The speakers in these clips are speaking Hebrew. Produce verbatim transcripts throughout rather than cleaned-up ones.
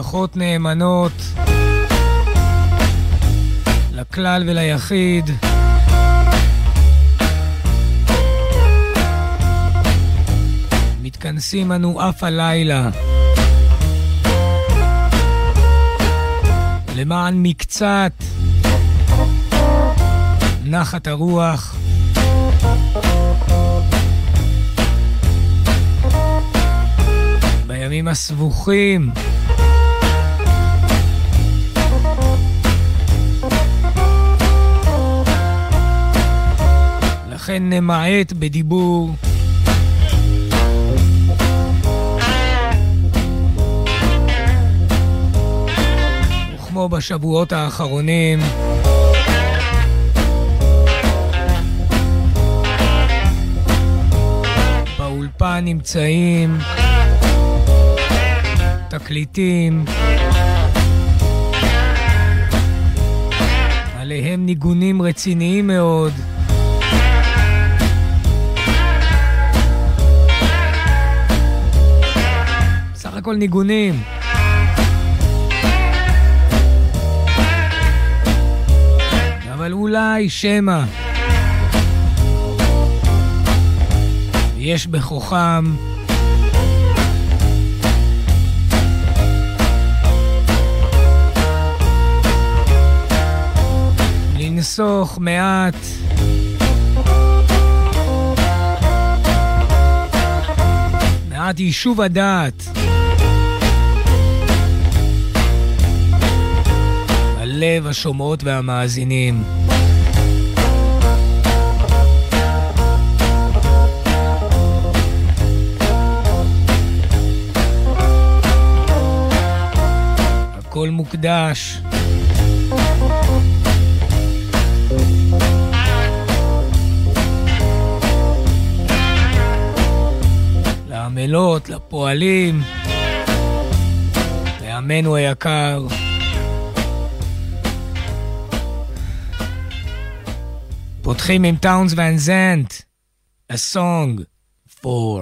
הבטחות נאמנות לכלל וליחיד. מתכנסים אנו אף הלילה למען מקצת נחת הרוח. בימים הסבוכים לכן נמעט בדיבור וכמו בשבועות האחרונים באולפן נמצאים תקליטים עליהם ניגונים רציניים מאוד סך הכל ניגונים אבל אולי שמה יש בכוחם לנסוך מעט מעט יישוב הדעת הלב השומעות והמאזינים. הכל מוקדש לעמלות, לפועלים, לעמנו היקר. פותחים עם טאונס ואן זנט, a song for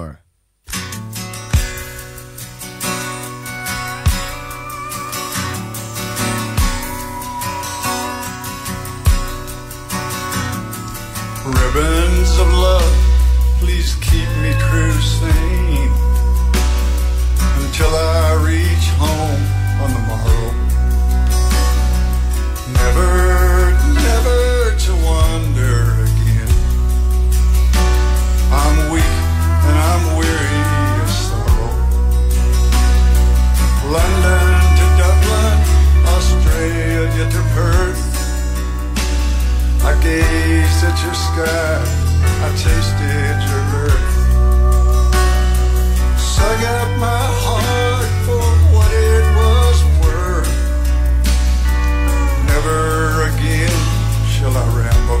ribbons of love, please keep me true sane until I reach home on the morrow. Never, never to wander again. I'm weak and I'm weary of sorrow. London to Dublin, Australia to Perth, I gazed at your sky, I tasted your earth, sung up my heart for what it was worth. Never again shall I ramble.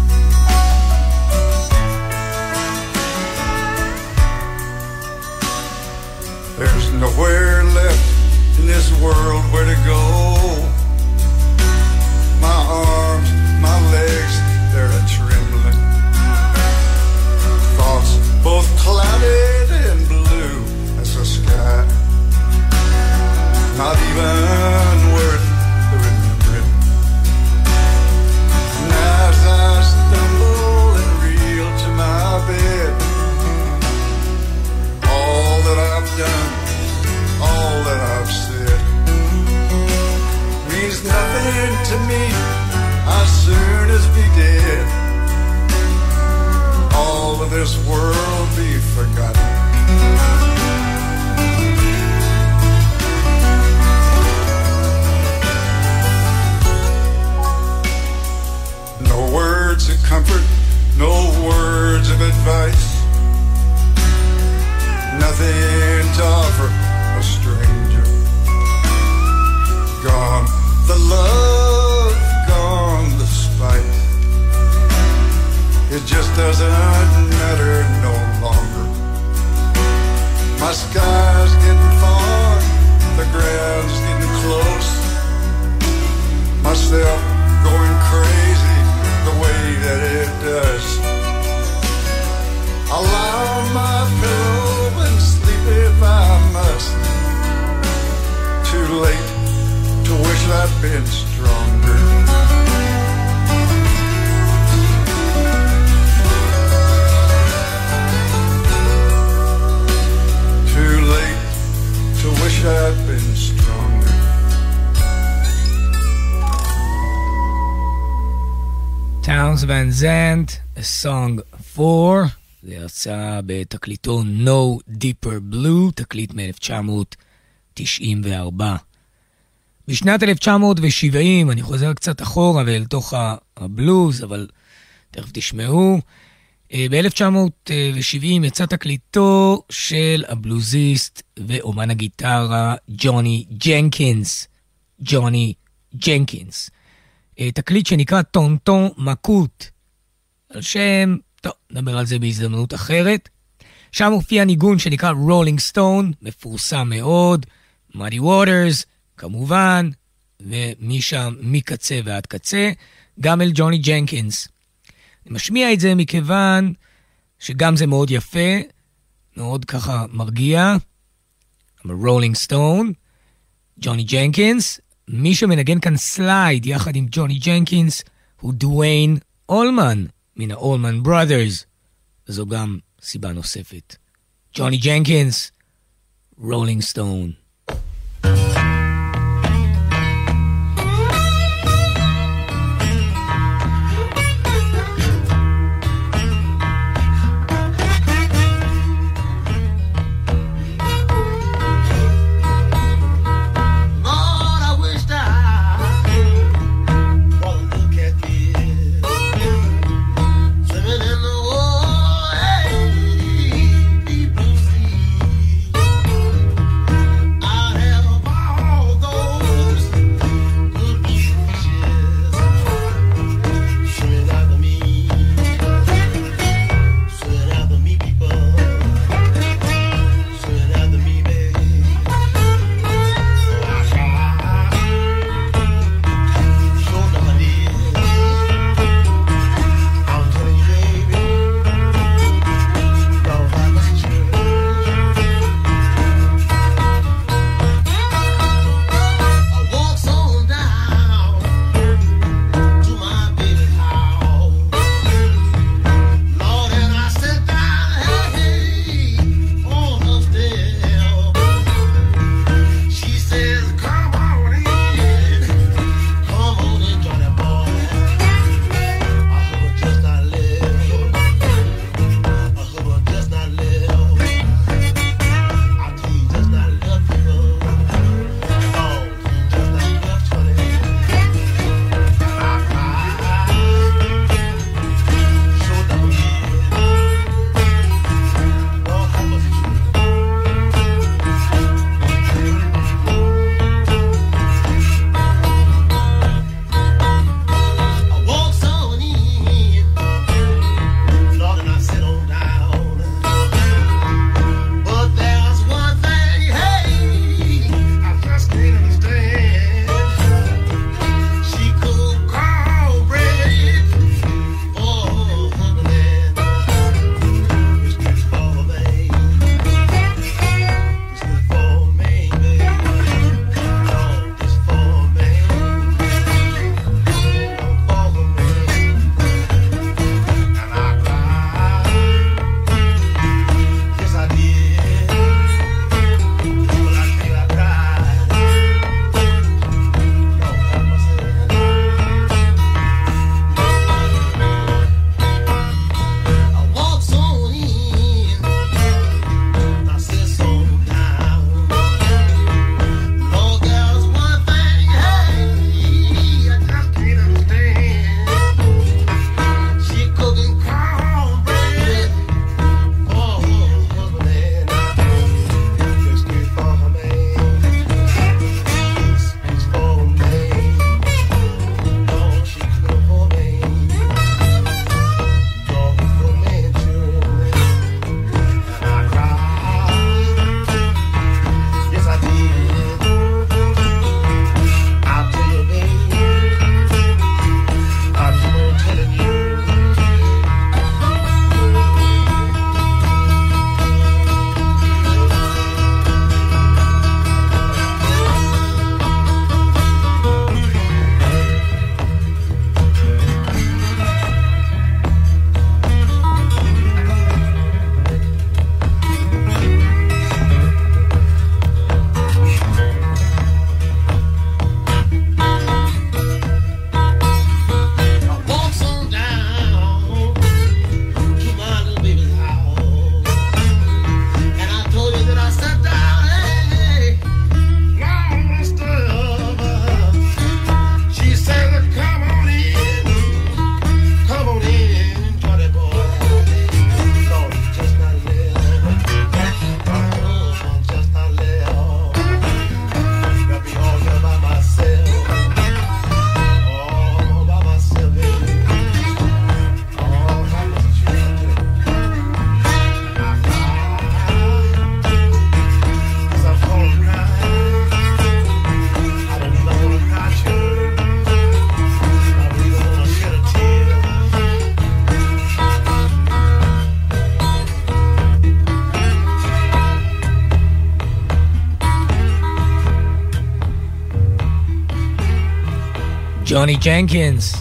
There's nowhere left in this world where to go. My arms, my legs, they're a trembling. Thoughts both clouded and blue as the sky. Not even worth the remembering. And as I stumble and reel to my bed, all that I've done, all that I've said, means nothing to me. As soon as be dead, all of this world be forgotten. No words of comfort, no words of advice, nothing to offer a stranger. Gone the love, gone the spite. It just doesn't matter no longer. I'd been stronger. Too late to wish I'd been stronger. Townes Van Zandt, A Song for, זה יצא בתקליטו No Deeper Blue, תקליט מ-אלף תשע מאות תשעים וארבע. בשנת אלף תשע מאות שבעים, אני חוזר קצת אחורה ואל תוך הבלוז, אבל תכף תשמעו, ב-אלף תשע מאות שבעים יצא תקליטו של הבלוזיסט ואומן הגיטרה ג'וני ג'נקינס. ג'וני ג'נקינס. תקליט שנקרא טונטון מקוט. על שם, טוב, נדבר על זה בהזדמנות אחרת. שם הופיע ניגון שנקרא רולינג סטון, מפורסם מאוד, מודי ווטרס, כמובן, ומשם מקצה ועד קצה, גם אל ג'וני ג'נקינס. אני משמיע את זה מכיוון שגם זה מאוד יפה, מאוד ככה מרגיע. רולינג סטון, ג'וני ג'נקינס, מי שמנגן כאן סלייד יחד עם ג'וני ג'נקינס הוא דוויין אולמן מן האולמן בראדרס. זו גם סיבה נוספת. ג'וני ג'נקינס, רולינג סטון. I ג'וני ג'נקינס,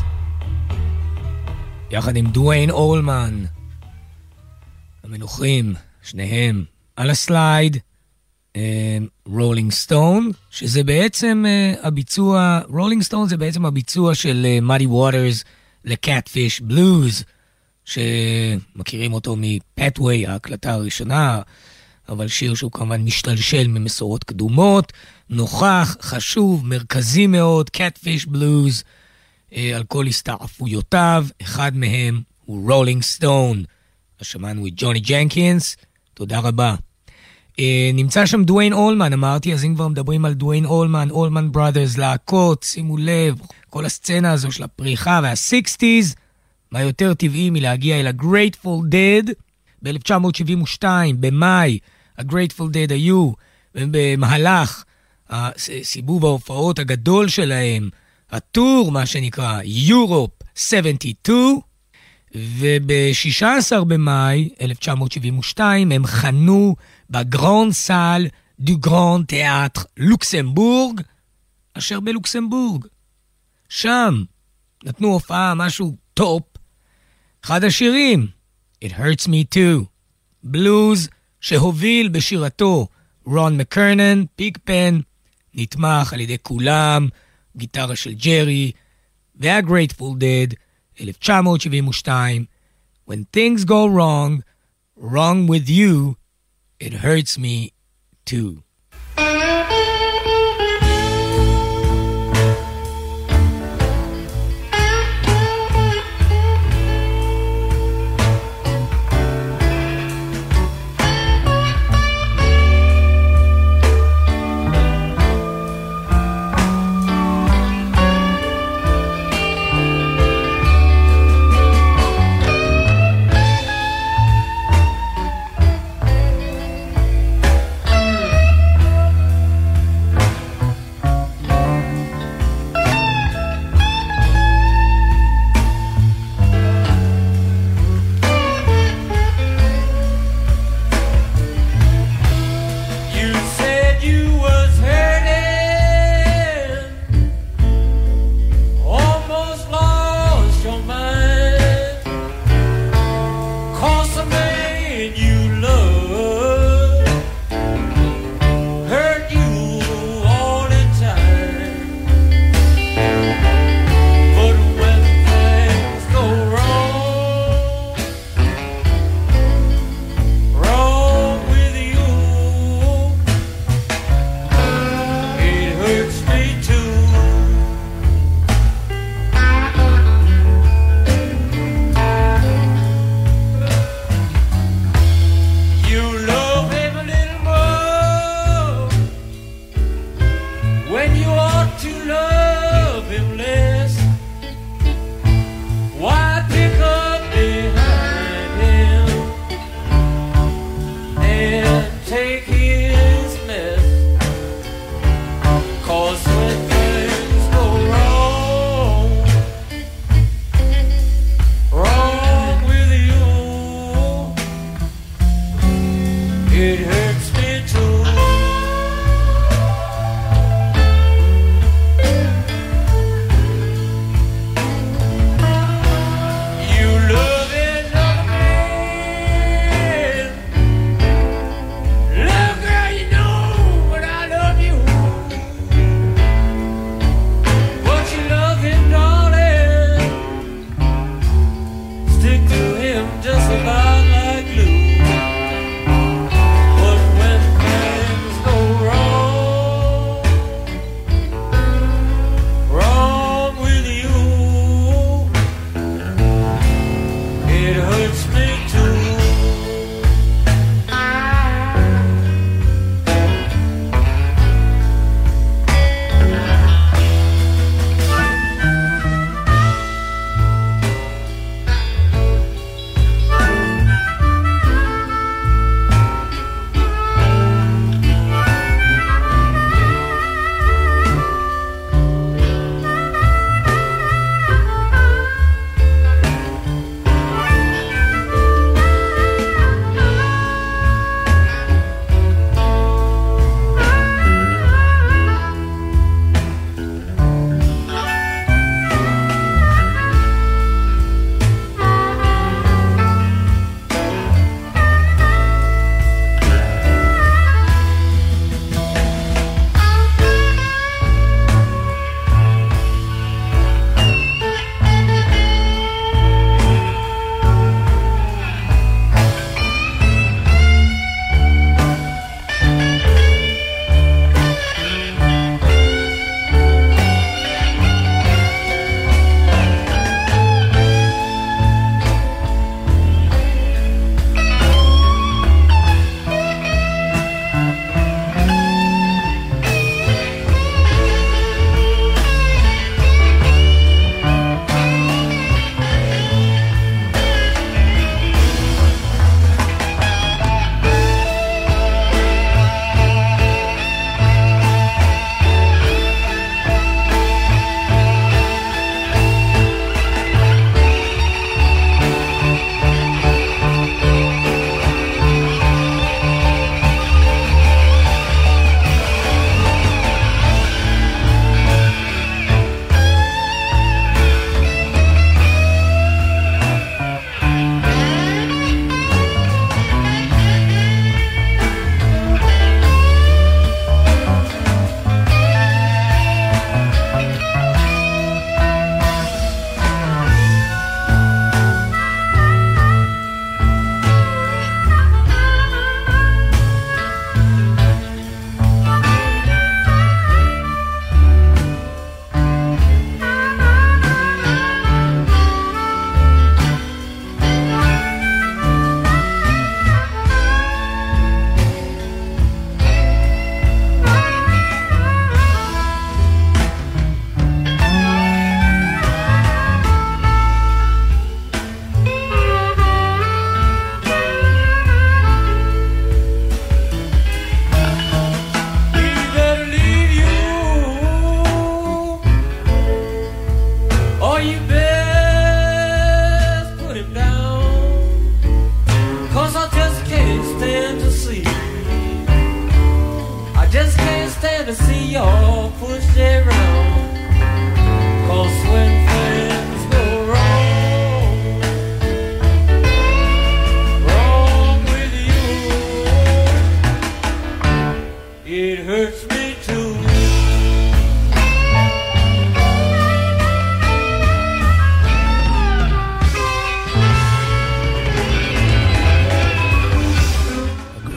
יחד עם דוויין אולמן, המנוחים, שניהם, על הסלייד, רולינג סטון, שזה בעצם uh, הביצוע, רולינג סטון זה בעצם הביצוע של מאדי uh, ווטרס לקאטפיש בלוז, שמכירים אותו מפאטווי, ההקלטה הראשונה, אבל שיר שהוא כמובן משתלשל ממסורות קדומות, נוכח, חשוב, מרכזי מאוד, קאטפיש בלוז, uh, על כל הסתעפויותיו, אחד מהם הוא רולינג סטון. אז שמענו את ג'וני ג'נקינס, תודה רבה. Uh, נמצא שם דוויין אולמן, אמרתי, אז אם כבר מדברים על דוויין אולמן, אולמן בראדרס, להקות, שימו לב, כל הסצנה הזו של הפריחה וה-סיקסטיז, מה יותר טבעי מלהגיע אל ה-Grateful Dead, ב-אלף תשע מאות שבעים ושתיים, במאי, ה-Grateful Dead היו, במהלך הסיבוב ההופעות הגדול שלהם, הטור, מה שנקרא, Europe שבעים ושתיים, וב-שישה עשר במאי אלף תשע מאות שבעים ושתיים הם חנו בגרנד סל דו גרנד תיאטר לוקסמבורג, אשר בלוקסמבורג. שם נתנו הופעה, משהו טופ. אחד השירים, It Hurts Me Too, בלוז שהוביל בשירתו רון מקרנן, פיג פן, נתמך על ידי כולם, גיטרה של ג'רי, וה-Grateful Dead, אלף תשע מאות שבעים ושתיים, When things go wrong, wrong with you, it hurts me too.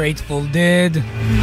Grateful Dead,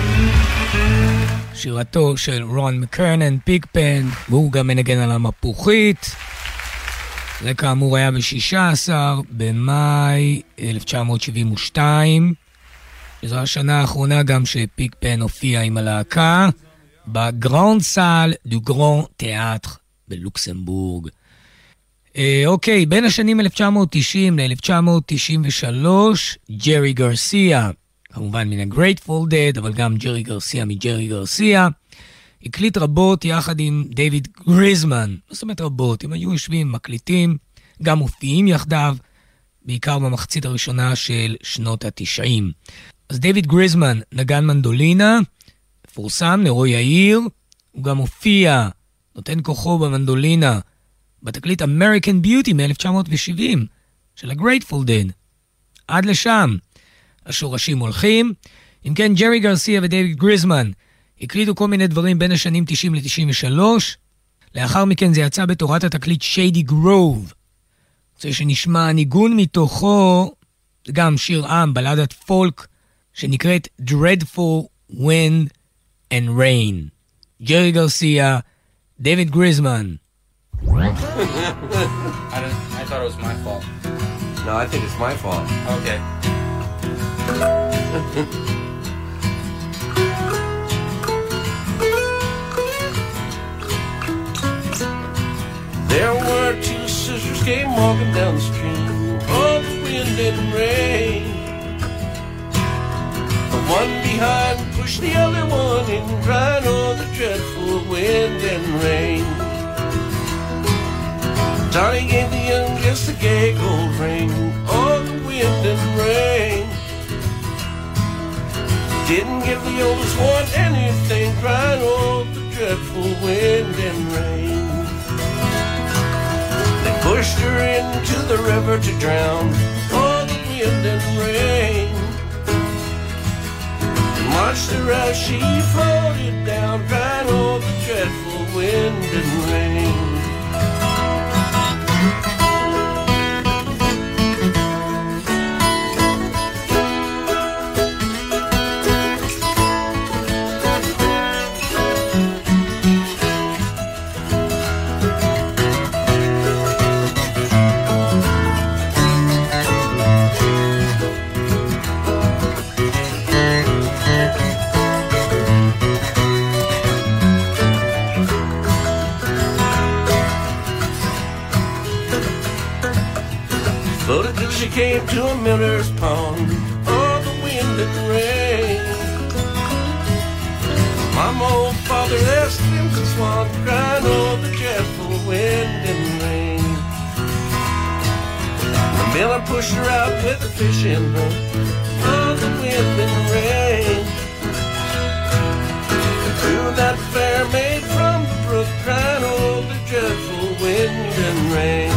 שירתו של רון מקרנן, פיג פן, והוא גם מנגן על המפוחית. זה כאמור היה ב-שישה עשר במאי אלף תשע מאות שבעים ושתיים, שזו השנה האחרונה גם שפיג פן הופיע עם הלהקה בגרנד סל דו גרנד תיאטר בלוקסמבורג. אה, אוקיי, בין השנים אלף תשע מאות תשעים ל-אלף תשע מאות תשעים ושלוש, ג'רי גרסיה, כמובן מן ה-Grateful Dead, אבל גם ג'רי גרסיה מג'רי גרסיה, הקליט רבות יחד עם דיוויד גריזמן. זאת אומרת רבות, הם היו יושבים, מקליטים, גם מופיעים יחדיו, בעיקר במחצית הראשונה של שנות ה-תשעים. אז דיוויד גריזמן נגן מנדולינה, פורסם, נרו יאיר, הוא גם הופיע, נותן כוחו במנדולינה, בתקליט American Beauty מ-אלף תשע מאות שבעים של ה-Grateful Dead. עד לשם השורשים הולכים. אם כן, ג'רי גרסיה ודייוויד גריזמן הקליטו כל מיני דברים בין השנים תשעים ל-תשעים ושלוש. לאחר מכן זה יצא בתורת התקליט Shady Grove. זה שנשמע ניגון מתוכו, זה גם שיר עם, בלדת פולק, שנקראת Dreadful Wind and Rain. ג'רי גרסיה, דיוויד גריזמן. I, didn't, I thought it was my fault. No, I think it's my fault. Okay. There were two sisters came walking down the street on the wind and rain. The one behind pushed the other one in, crying on the dreadful wind and rain. Johnny gave the youngest a gay gold ring on the wind and rain. Didn't give the oldest one anything, crying on the dreadful wind and rain. They pushed her into the river to drown on the wind and rain, and watched her as she floated down, crying on the dreadful wind and rain. She came to a miller's pond, oh, the wind and rain. Mama, old father, asked him to swan, crying, oh, the dreadful wind and rain. The miller pushed her out with a fish in her, oh, the wind and rain. And through that fair maid from the brook, crying, oh, the dreadful wind and rain.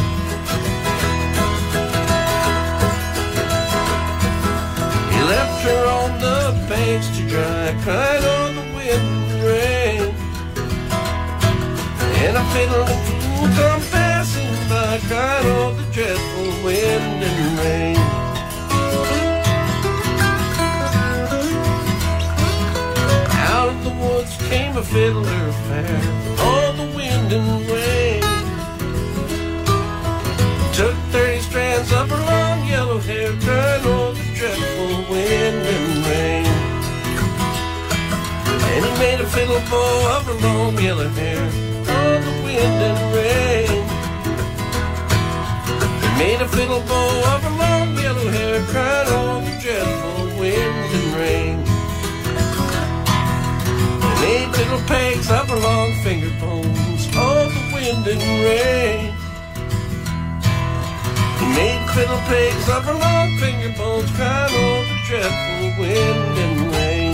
Left her on the banks to dry, cried on the wind and rain. And a fiddle and fool come passing by, cried on the dreadful wind and rain. Out of the woods came a fiddler fair, on the wind and rain. Took thirty strands of her long yellow hair, cried on the dreadful wind and rain. And he made a fiddle bow of her long yellow hair on the wind and rain. He made a fiddle bow of her long yellow hair, cried on the dreadful wind and rain. And made fiddle pegs of her long finger bones on the wind and rain. Made fiddle pegs of her long finger bones, crying over the dreadful wind and rain.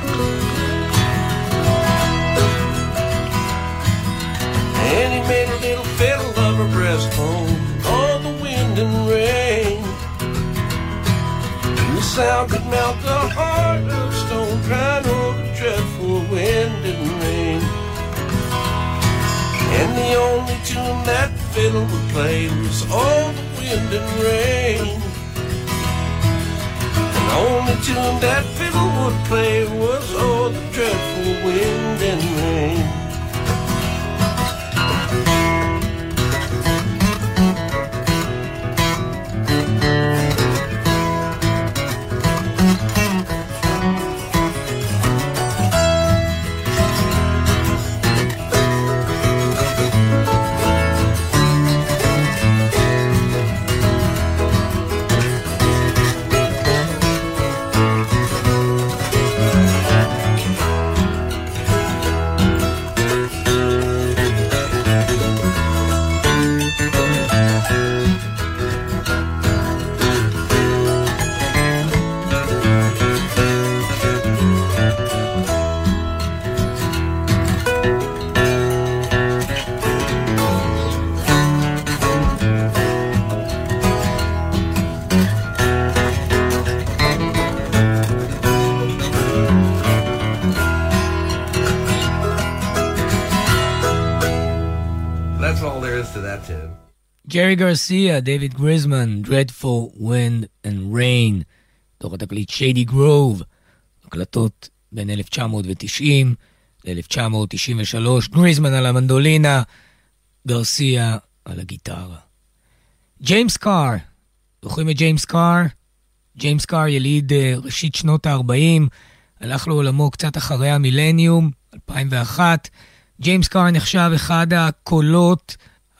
And he made a little fiddle of her breastbone on the wind and rain. And the sound could melt the heart of stone, crying over the dreadful wind and rain. And the only tune that fiddle would play was all the wind and rain. And The only tune that fiddle would play was oh, the dreadful wind and rain. ג'רי גרסיה, דייוויד גריזמן, Dreadful Wind and Rain, תוך התקליט שיידי גרוב, הקלטות בין אלף תשע מאות תשעים ל-אלף תשע מאות תשעים ושלוש, גריזמן על המנדולינה, גרסיה על הגיטרה. ג'יימס קאר, זוכרים את ג'יימס קאר? ג'יימס קאר יליד ראשית שנות ה-ארבעים, הלך לעולמו קצת אחרי המילניום, אלפיים ואחת. ג'יימס קאר נחשב אחד הקולות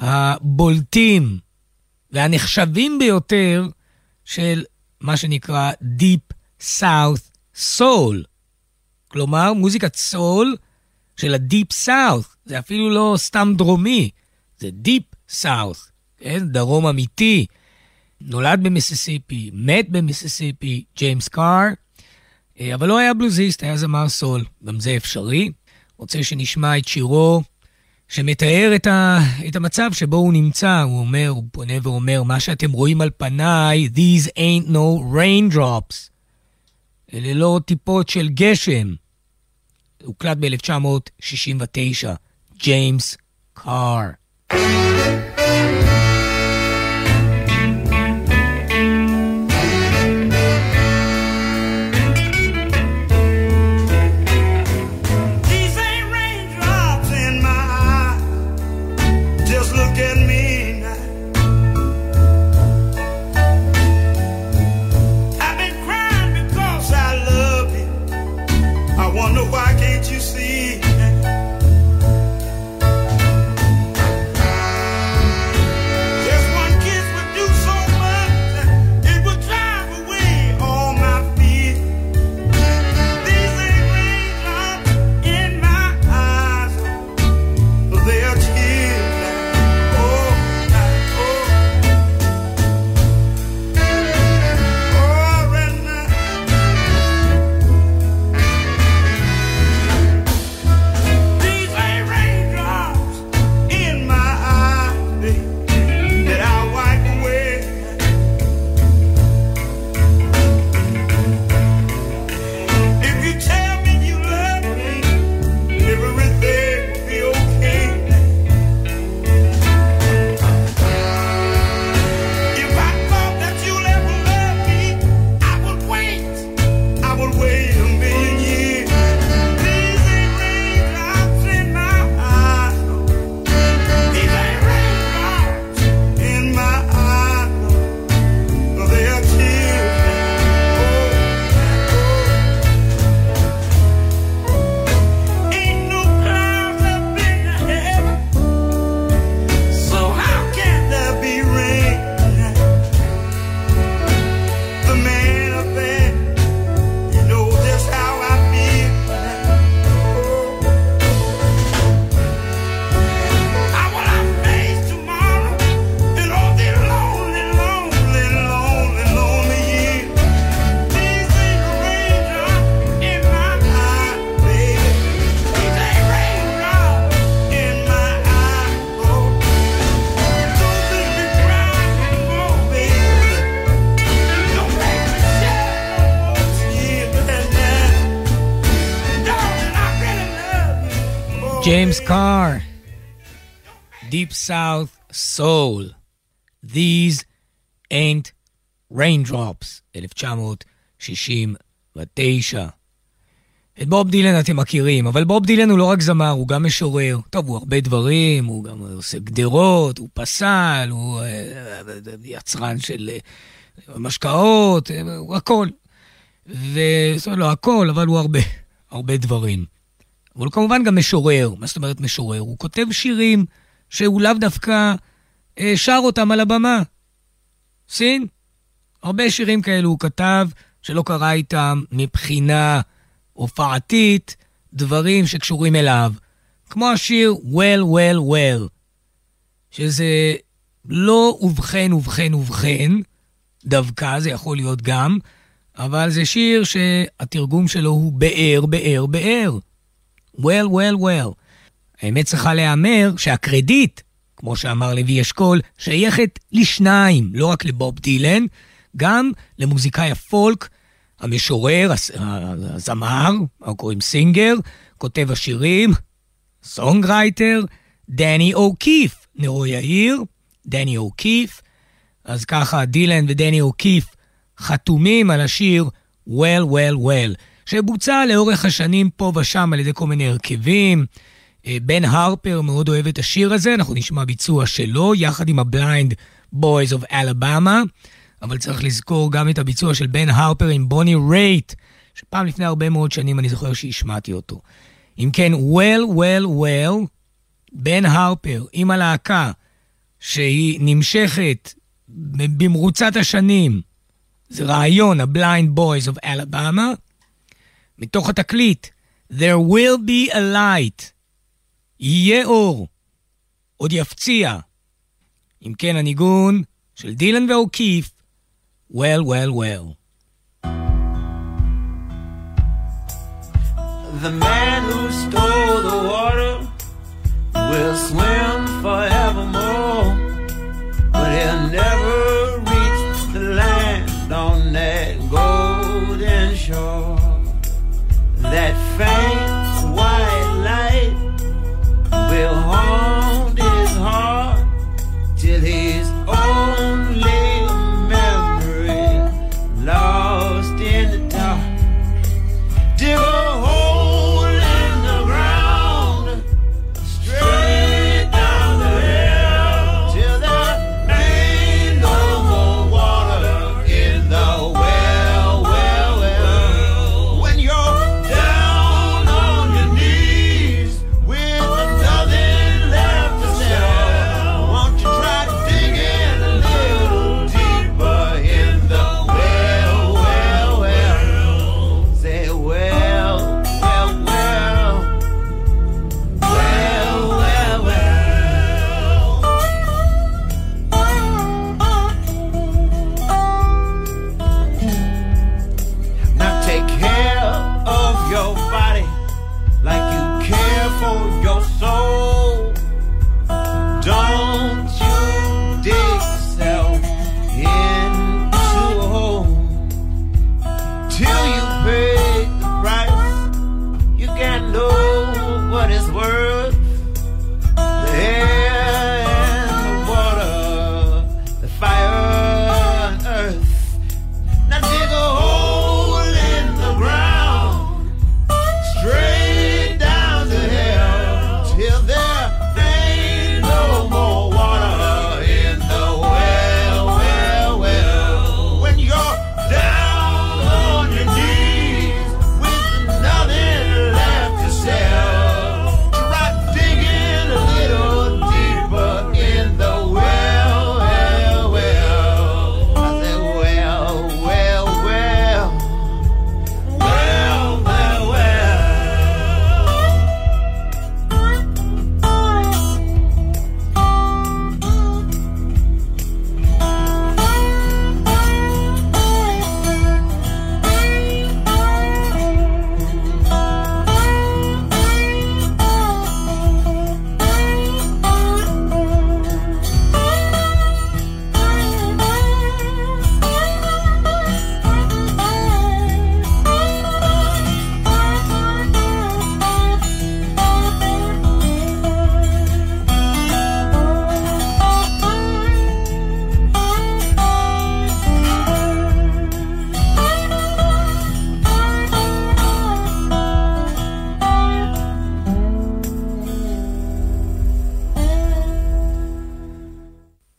הבולטים והנחשבים ביותר של מה שנקרא Deep South Soul. כלומר, מוזיקת סול של ה-Deep South. זה אפילו לא סתם דרומי, זה Deep South, כן? דרום אמיתי. נולד במיסיסיפי, מת במיסיסיפי, ג'יימס קאר, אבל לא היה בלוזיסט, היה זמר סול. גם זה אפשרי. רוצה שנשמע את שירו שמתאר את, ה, את המצב שבו הוא נמצא. הוא אומר, הוא פונה ואומר, מה שאתם רואים על פניי, these ain't no raindrops. אלה לא טיפות של גשם. הוא קלט ב-אלף תשע מאות שישים ותשע. ג'יימס קאר. James Carr, Deep South Soul, These Ain't Raindrops, אלף תשע מאות שישים ותשע. את בוב דילן אתם מכירים, אבל בוב דילן הוא לא רק זמר, הוא גם משורר. טוב, הוא הרבה דברים, הוא גם עושה גדרות, הוא פסל, הוא יצרן של משקאות, הוא הכל. וזאת אומרת, לא הכל, אבל הוא הרבה, הרבה דברים. אבל הוא כמובן גם משורר. מה זאת אומרת משורר? הוא כותב שירים שהוא לאו דווקא שר אותם על הבמה. סין? הרבה שירים כאלו הוא כתב שלא קרא איתם מבחינה הופעתית, דברים שקשורים אליו. כמו השיר Well, Well, Well, שזה לא ובכן, ובכן, ובכן, דווקא זה יכול להיות גם, אבל זה שיר שהתרגום שלו הוא באר, באר, באר. Well, well, well. האמת צריכה להיאמר שהקרדיט, כמו שאמר לוי אשכול, שייכת לשניים, לא רק לבוב דילן, גם למוזיקאי הפולק, המשורר, הזמר, או קוראים סינגר, כותב השירים, סונגרייטר, דני אוקיף, נרו יאיר, דני אוקיף. אז ככה דילן ודני אוקיף חתומים על השיר Well, Well, Well, שבוצע לאורך השנים פה ושם על ידי כל מיני הרכבים. בן הרפר מאוד אוהב את השיר הזה, אנחנו נשמע ביצוע שלו, יחד עם ה-Blind Boys of Alabama, אבל צריך לזכור גם את הביצוע של בן הרפר עם בוני רייט, שפעם לפני הרבה מאוד שנים אני זוכר שהשמעתי אותו. אם כן, Well, Well, Well, בן הרפר עם הלהקה, שהיא נמשכת במרוצת השנים, זה רעיון, ה-Blind Boys of Alabama, מתוך התקליט, There will be a light, יהיה אור, עוד יפציע. אם כן, הניגון של דילן ואוקיף, Well, Well, Well. The man who stole the water will swim forevermore, but he'll never reach the land on that golden shore. That faint white light will haunt his heart till he's only a memory lost in the dark. Dig a hole in the ground, straight down the hill, till there ain't no more water in the well, well, well. When you're down on your knees with nothing left to sell, won't you try to dig in a little deeper in the well, well, well. Say well, well, well, well, well, well. Now take care of your body like you care for your soul. Don't you dig yourself into a hole till you pay the price. You can't know what it's worth. The air and the water, the fire and earth. Now dig a hole in the ground, straight down to hell, till there ain't no more water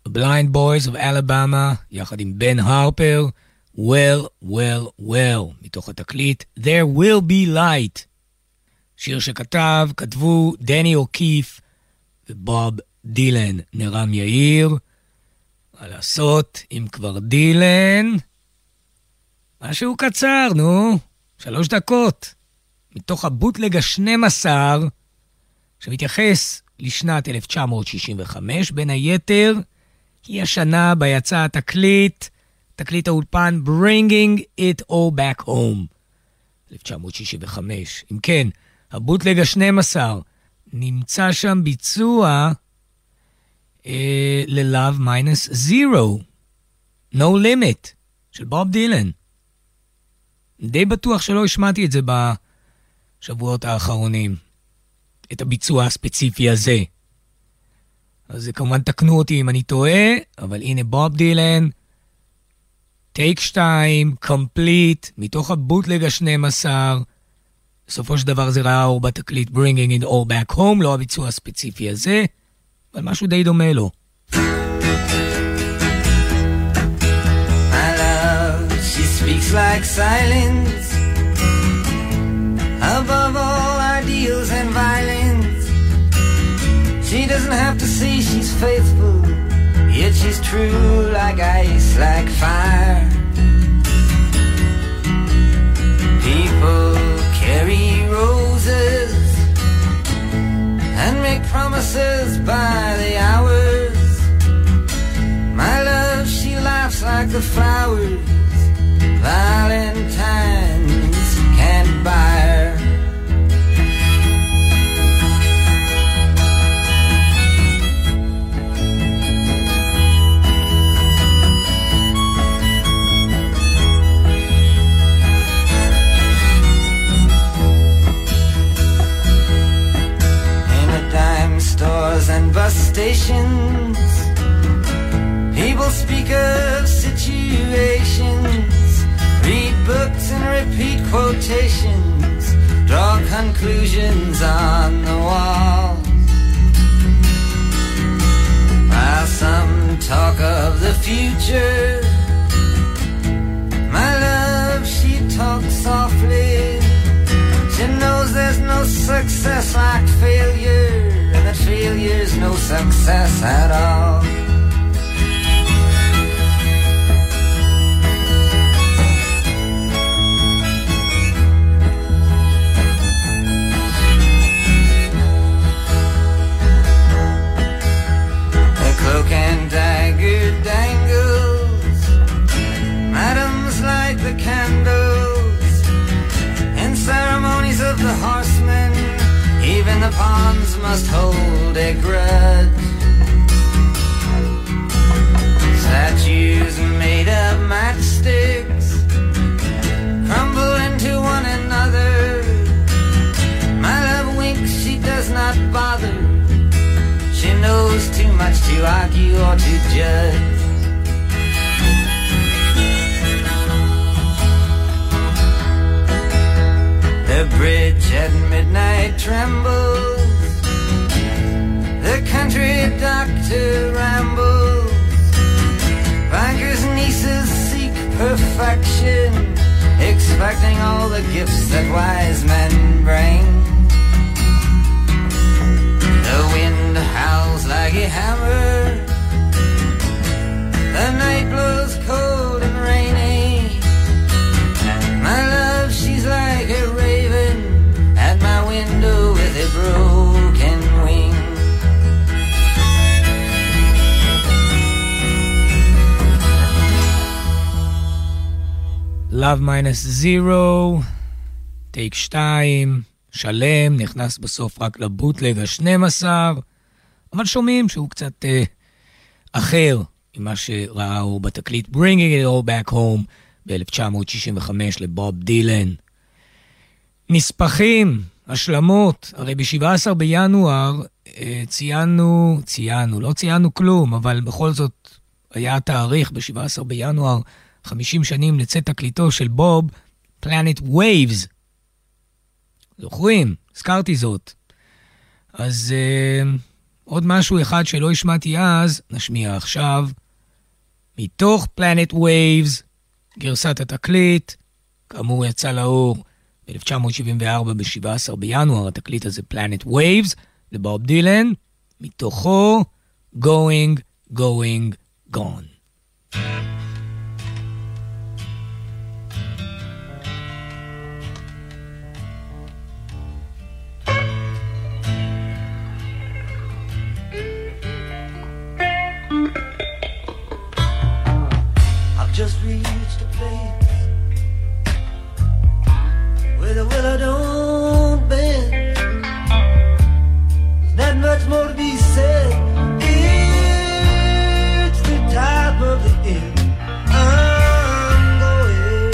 Blind Boys of Alabama, יחד עם בן הרפר, Well, Well, Well, מתוך התקליט There Will Be Light. שיר שכתב, כתבו דני אוקיף ובוב דילן. נרם יאיר, מה לעשות, אם כבר דילן, משהו קצר, נו, שלוש דקות, מתוך הבוטלג ה-שנים עשר, שמתייחס לשנת אלף תשע מאות שישים וחמש, בין היתר, היא השנה בה יצא התקליט, תקליט האולפן Bringing It All Back Home, אלף תשע מאות שישים וחמש. אם כן, הבוטלג ה-שנים עשר, נמצא שם ביצוע אה, ל-Love Minus Zero, No Limit, של בוב דילן. די בטוח שלא השמעתי את זה בשבועות האחרונים, את הביצוע הספציפי הזה. אז כמובן תקנו אותי אם אני טועה, אבל הנה בוב דילן, טייק שתיים, קומפליט, מתוך הבוטלג ה-שנים עשר, בסופו של דבר זה ראה אור בתקליט Bringing It All Back Home, לא הביצוע הספציפי הזה, אבל משהו די דומה לו. My love, she speaks like silence, above all ideals and violence. She doesn't have to say she's faithful, yet she's true like ice, like fire. People carry roses and make promises by the hours. My love, she laughs like the flowers Valentine's can't buy her. Stores and bus stations, people speak of situations, read books and repeat quotations, draw conclusions on the walls, while some talk of the future. My love, she talks softly, she knows there's no success like failure, that failure's no success at all. The cloak and dagger dangles, madams light the candles, in ceremonies of the horsemen, even the pawns must hold a grudge. Statues made of matchsticks crumble into one another. My love winks, she does not bother. She knows too much to argue or to judge. The bridge at midnight trembles, the country doctor rambles, bankers' nieces seek perfection, expecting all the gifts that wise men bring. The wind howls like a hammer, the night blows cold and rainy. My love, she's like a raven at my window with a broken wing. Love Minus Zero, טייק שתיים, שלם, נכנס בסוף רק לבוטלג ה-שנים עשר, אבל שומעים שהוא קצת אה, אחר ממה שראה הוא בתקליט Bringing It All Back Home ב-אלף תשע מאות שישים וחמש לבוב דילן. נספחים, השלמות, הרי ב-שבעה עשר בינואר אה, ציינו, ציינו, לא ציינו כלום, אבל בכל זאת היה התאריך ב-שבעה עשר בינואר, חמישים שנים לצאת תקליטו של בוב, Planet Waves. זוכרים? הזכרתי זאת. אז עוד משהו אחד שלא השמעתי אז, נשמיע עכשיו, מתוך Planet Waves, גרסת התקליט, כאמור יצא לאור ב-אלף תשע מאות שבעים וארבע ב-שבעה עשר בינואר, התקליט הזה Planet Waves, לבוב דילן, מתוכו Going, Going, Gone. Just reached a place where the willow don't bend. There's not much more to be said. It's the top of the end. I'm going.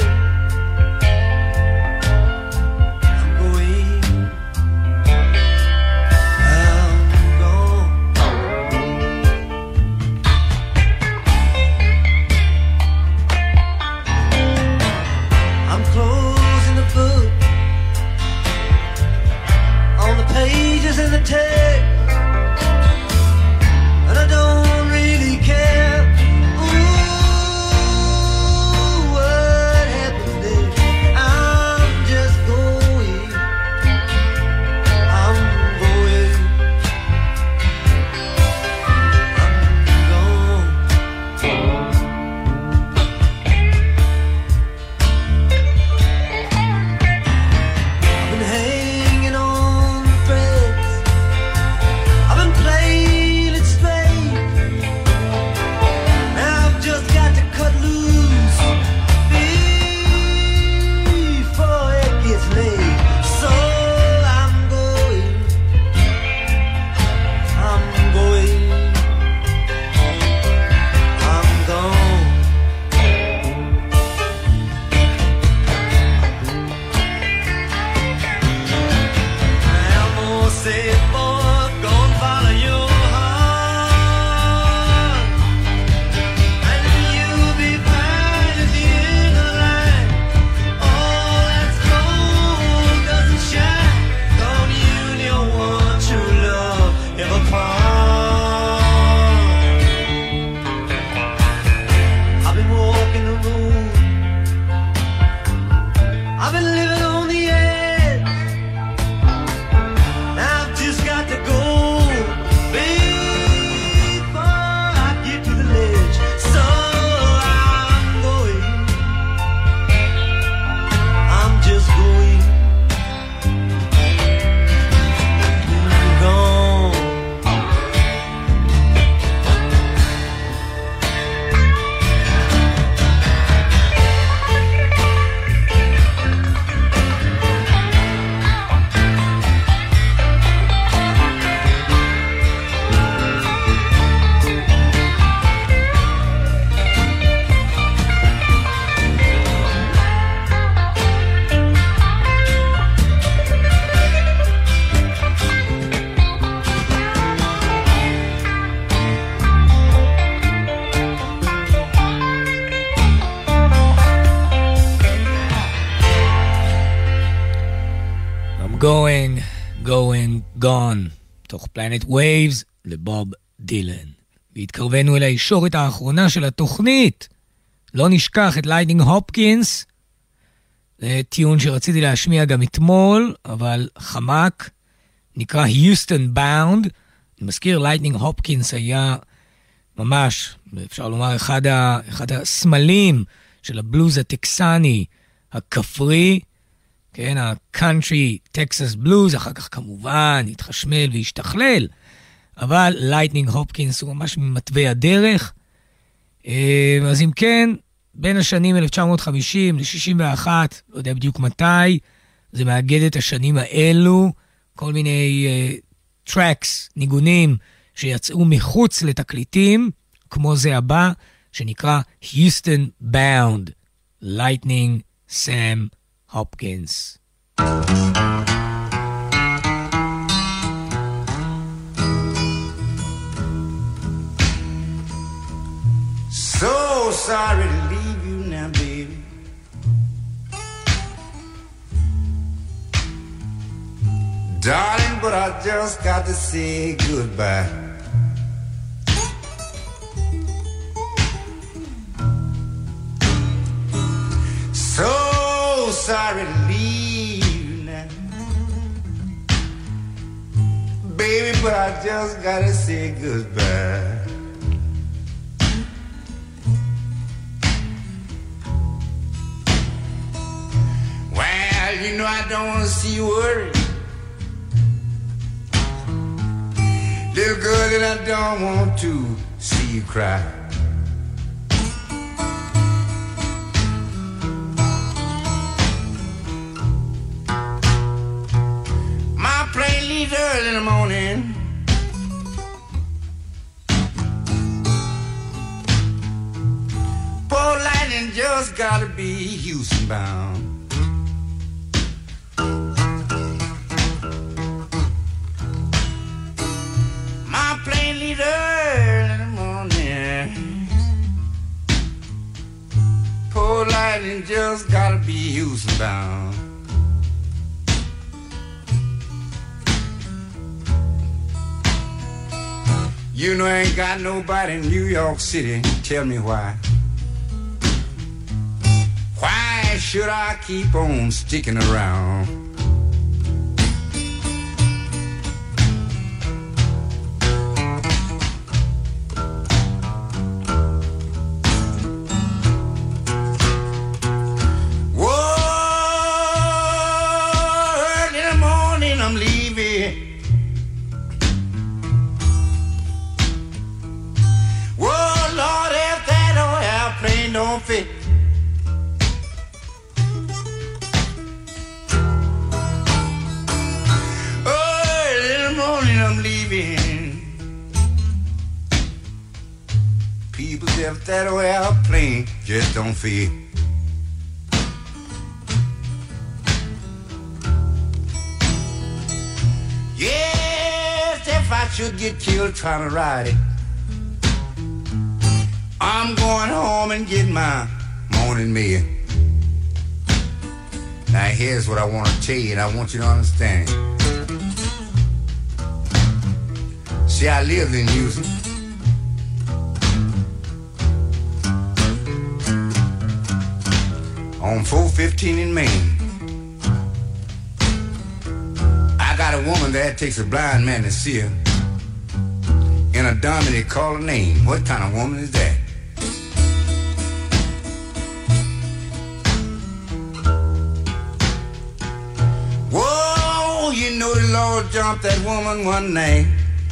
I'm going. I'm gone. I'm closing the book on the pages in the text, and I don't really care. Ooh, what happened there? I'm just going. I'm going. I'm gone. I've been hanging on the threads. I've been playing it straight. Now I've just got to cut loose before it gets late. So I'm going. I'm going. I'm gone. I'm gonna say, boy, go and follow your heart, and you'll be fine at the end of the line. All that's gold doesn't shine. Don't you know what true love ever part? I've been walking the road. I've been living on the edge. Now I've just got to go before I get to the ledge. So I'm going. I'm just going. Gone. I'm going, going, gone, תוך Planet Waves לבוב דילן. והתקרבנו אל הישורת האחרונה של התוכנית. לא נשכח את לייטנינג הופקינס. זה טיון שרציתי להשמיע גם אתמול, אבל חמק. נקרא Houston Bound. אני מזכיר, לייטנינג הופקינס היה ממש, אפשר לומר, אחד, ה, אחד הסמלים של הבלוז הטקסני, הכפרי, כן, הקאנטרי טקסס בלוז, אחר כך כמובן התחשמל והשתכלל, אבל לייטנינג הופקינס הוא ממש ממטבע הדרך. אז אם כן, בין השנים אלף תשע מאות חמישים ל-שישים ואחת, לא יודע בדיוק מתי, זה מאגד את השנים האלו, כל מיני uh, טרקס, ניגונים, שיצאו מחוץ לתקליטים, כמו זה הבא, שנקרא Houston Bound, Lightning Sam Hopkins. So sorry to leave you now, baby. Darling, but I just got to say goodbye. I just gotta say goodbye. Well, you know I don't want to see you worry. Little girl, and I don't want to see you cry. My plane leaves early in the morning. Poor lightning just gotta be Houston bound. My plane leaves early in the morning. Poor lightning just gotta be Houston bound. You know I ain't got nobody in New York City. Tell me why. Why should I keep on sticking around? Don't fit. Early in the morning I'm leaving. People say if that way our plane just don't fit. Yes, if I should get killed trying to ride it, I'm going home and get my morning meal. Now here's what I want to tell you, and I want you to understand. See, I lived in Houston. On four fifteen in Maine. I got a woman there that takes a blind man to see her. In a dummy they call her name. What kind of woman is that? You know the Lord jumped that woman one night.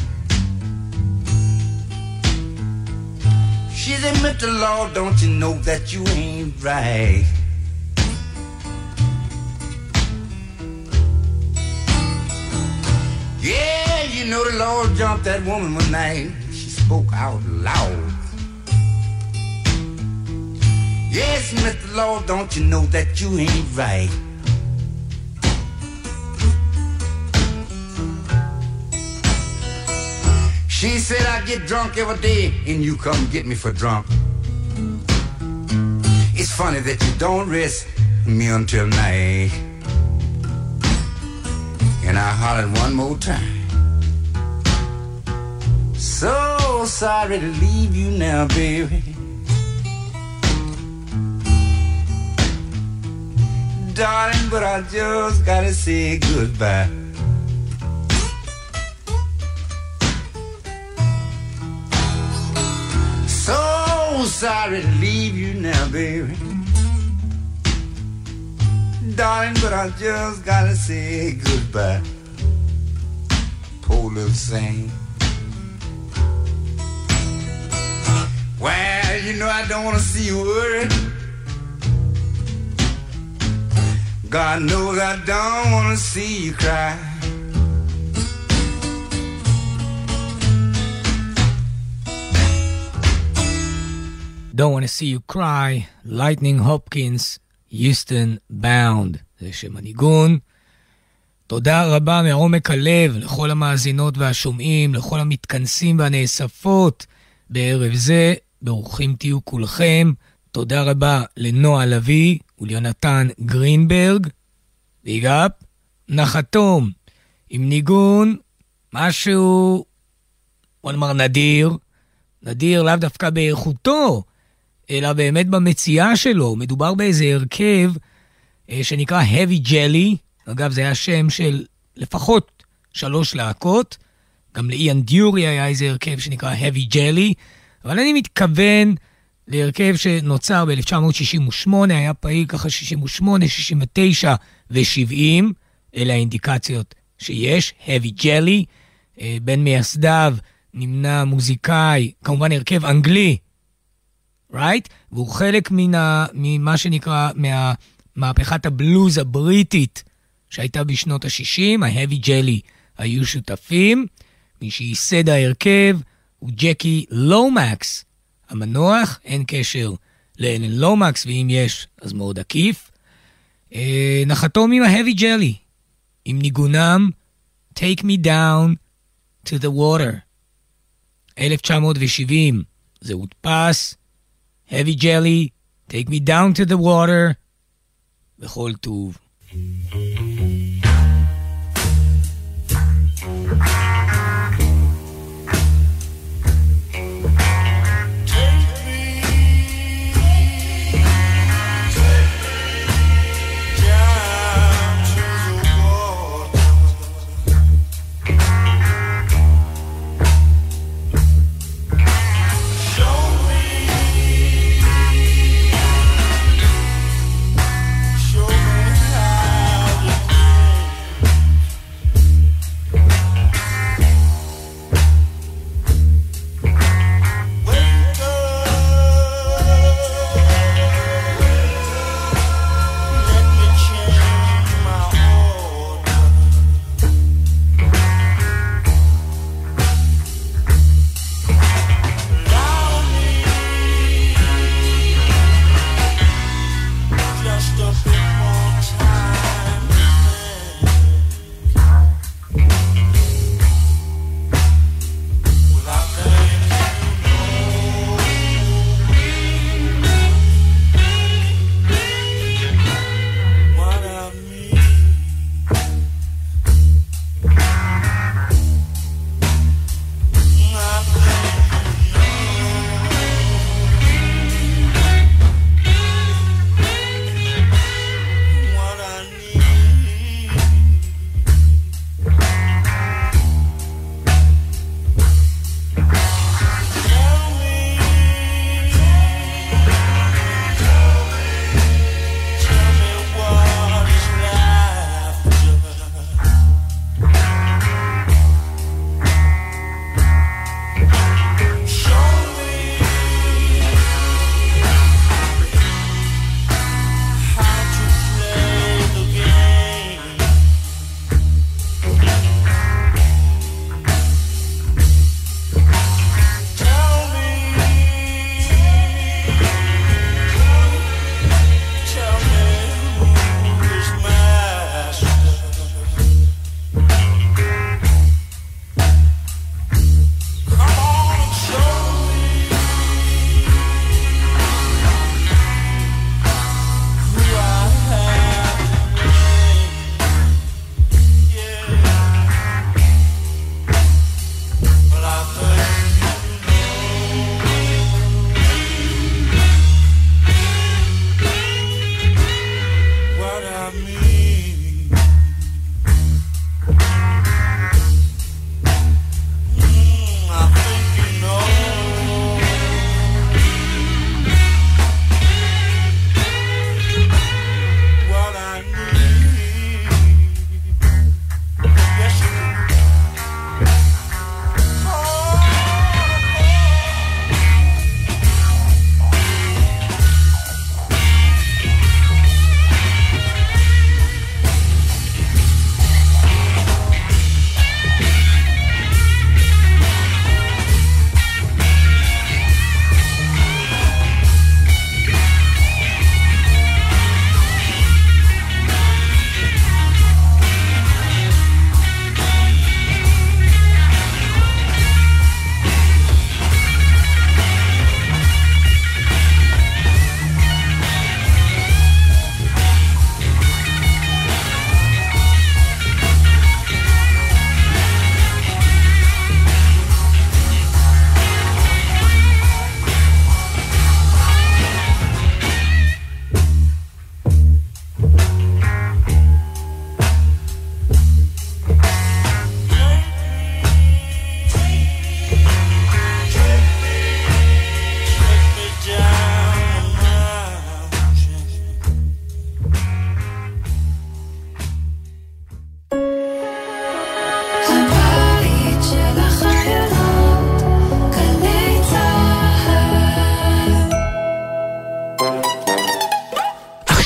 She said, Mister Lord, don't you know that you ain't right? Yeah, you know the Lord jumped that woman one night. She spoke out loud. Yes, Mister Lord, don't you know that you ain't right? She said I get drunk every day and you come get me for drunk. It's funny that you don't rest me until night. And I hollered one more time. So sorry to leave you now, baby. Darling, but I just gotta say goodbye. Sorry to leave you now, baby. Darling, but I just gotta say goodbye. Poor little saint. Well, you know I don't wanna see you worry. God knows I don't wanna see you cry. Don't want to see you cry, Lightning Hopkins, Houston Bound. זה שם הניגון. תודה רבה מעומק הלב לכל המאזינות והשומעים, לכל המתכנסים והנאספות בערב זה. ברוכים תהיו כולכם. תודה רבה לנועה לוי וליונתן גרינברג. ביג אפ. נחתום עם ניגון, משהו, בוא נאמר נדיר. נדיר לאו דווקא באיכותו, אלא באמת במציאה שלו. מדובר באיזה הרכב אה, שנקרא Heavy Jelly. אגב, זה היה שם של לפחות שלוש להקות, גם לאיאן דיורי היה איזה הרכב שנקרא Heavy Jelly, אבל אני מתכוון להרכב שנוצר ב-אלף תשע מאות שישים ושמונה, היה פעיל ככה שישים ושמונה, שישים ותשע ו-שבעים, אלה האינדיקציות שיש, Heavy Jelly, בין מייסדיו נמנה מוזיקאי, כמובן הרכב אנגלי, right? והוא חלק מן ממה שנקרא מהמהפכת הבלוז הבריטית שהייתה בשנות ה-שישים, ה-Heavy Jelly היו שותפים, מי שייסד ההרכב הוא ג'קי לומקס, המנוח, אין קשר לאלן לומקס, ואם יש אז מאוד עקיף. אה, נחתום עם ה-Heavy Jelly, עם ניגונם Take Me Down to the Water. אלף תשע מאות שבעים, זה הודפס, Heavy Jelly, Take Me Down to the Water, בכל טוב. Show me how.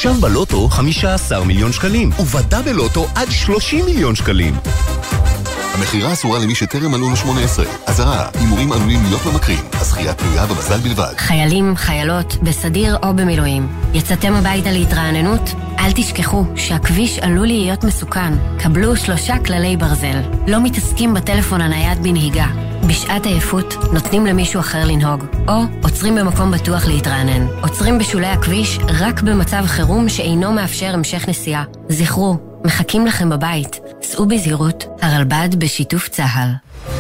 עכשיו בלוטו חמישה עשר מיליון שקלים, ובדאבל לוטו עד שלושים מיליון שקלים. המחירה אסורה למי שטרם מלאו לו שמונה עשרה. אזהרה, הימורים עלולים להיות ממכרים. הזכייה תלויה במזל בלבד. חיילים, חיילות, בסדיר או במילואים. יצאתם הביתה להתרעננות? אל תשכחו שהכביש עלול להיות מסוכן. קבלו שלושה כללי ברזל. לא מתעסקים בטלפון הנייד בנהיגה. בשעת עייפות נותנים למישהו אחר לנהוג. או עוצרים במקום בטוח להתרענן. עוצרים בשולי הכביש רק במצב חירום שאינו מאפשר המשך נסיעה. זכרו, מחכים לכם בבית. סעו בזהירות, הרלב"ד בשיתוף צה"ל.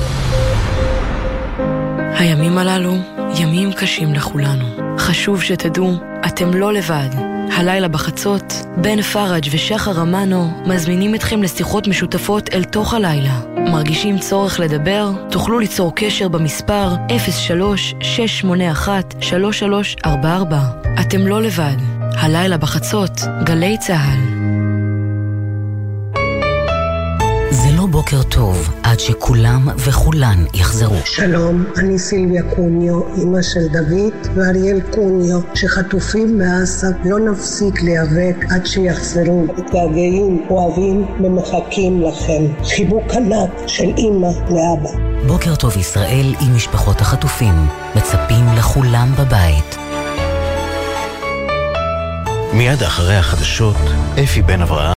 הימים הללו ימים קשים לכולנו. חשוב שתדעו, אתם לא לבד. הלילה בחצות, בן פרג' ושחר אמנו מזמינים אתכם לשיחות משותפות אל תוך הלילה. מרגישים צורך לדבר? תוכלו ליצור קשר במספר אפס שלוש שש שמונה אחת שלוש שלוש ארבע ארבע. אתם לא לבד. הלילה בחצות, גלי צה"ל. זה לא בוקר טוב עד שכולם וכולן יחזרו. שלום, אני סילביה קוניו, אמא של דוד ואריאל קוניו, שחטופים בעזה. לא נפסיק להיאבק עד שיחזרו. מתגעגעים, אוהבים ומחכים לכם. חיבוק ענק של אמא לאבא. בוקר טוב ישראל עם משפחות החטופים. מצפים לכולם בבית. מיד אחרי החדשות, אפי בן אברהם.